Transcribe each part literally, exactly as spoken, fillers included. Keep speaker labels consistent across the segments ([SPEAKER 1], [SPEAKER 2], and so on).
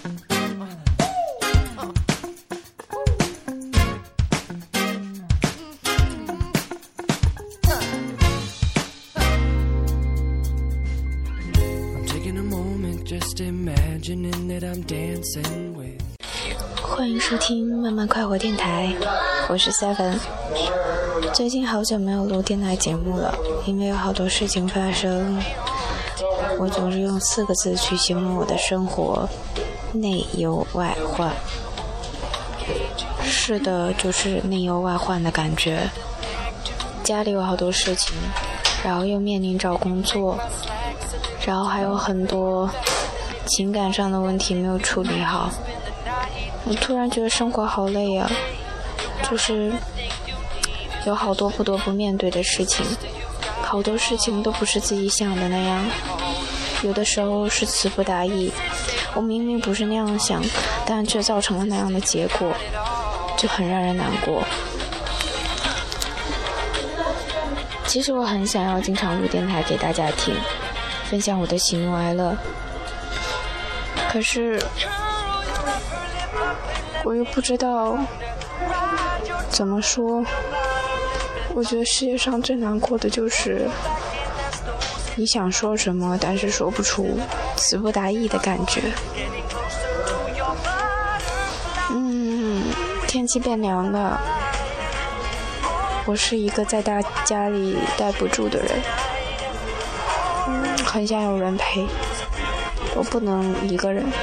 [SPEAKER 1] 欢迎收听慢慢快活电台，我是 Seven。 最近好久没有录电台节目了，因为有好多事情发生。我总是用四个字去形容我的生活：内忧外患。是的，就是内忧外患的感觉。家里有好多事情，然后又面临找工作，然后还有很多情感上的问题没有处理好。我突然觉得生活好累啊，就是有好多不得不面对的事情，好多事情都不是自己想的那样，有的时候是词不达意，我明明不是那样想，但却造成了那样的结果，就很让人难过。其实我很想要经常录电台给大家听，分享我的喜怒哀乐，可是我又不知道怎么说。我觉得世界上最难过的就是你想说什么但是说不出，词不达意的感觉。嗯，天气变凉了，我是一个在大家里待不住的人，嗯，很想有人陪，我不能一个人。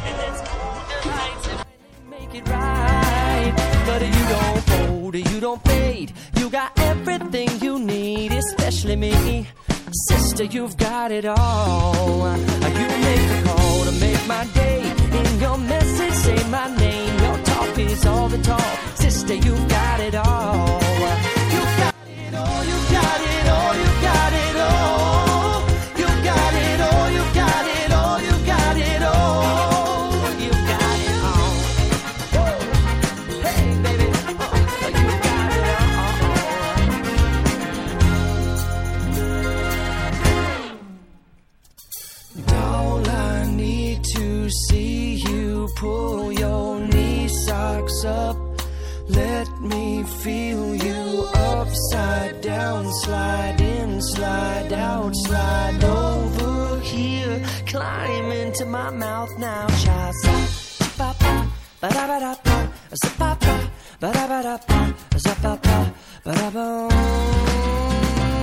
[SPEAKER 2] But you don't fold, you don't fade. You got everything you need, especially me. Sister, you've got it all. You make the call to make my day. In your message, say my name. Your talk is all the talk. Sister, you've got it all. You got it all, you got it all, you got it all. You got it all, you got it all, you got it all. You got it all. Hey, baby, you got it all. All I need to see you pull your knee socks up. Let me feel you upside down, slide in, slide out, slide over here, climb into my mouth now. Cha sa pa pa ba da ba da pa, sa pa pa ba da ba da pa, sa pa pa ba da ba.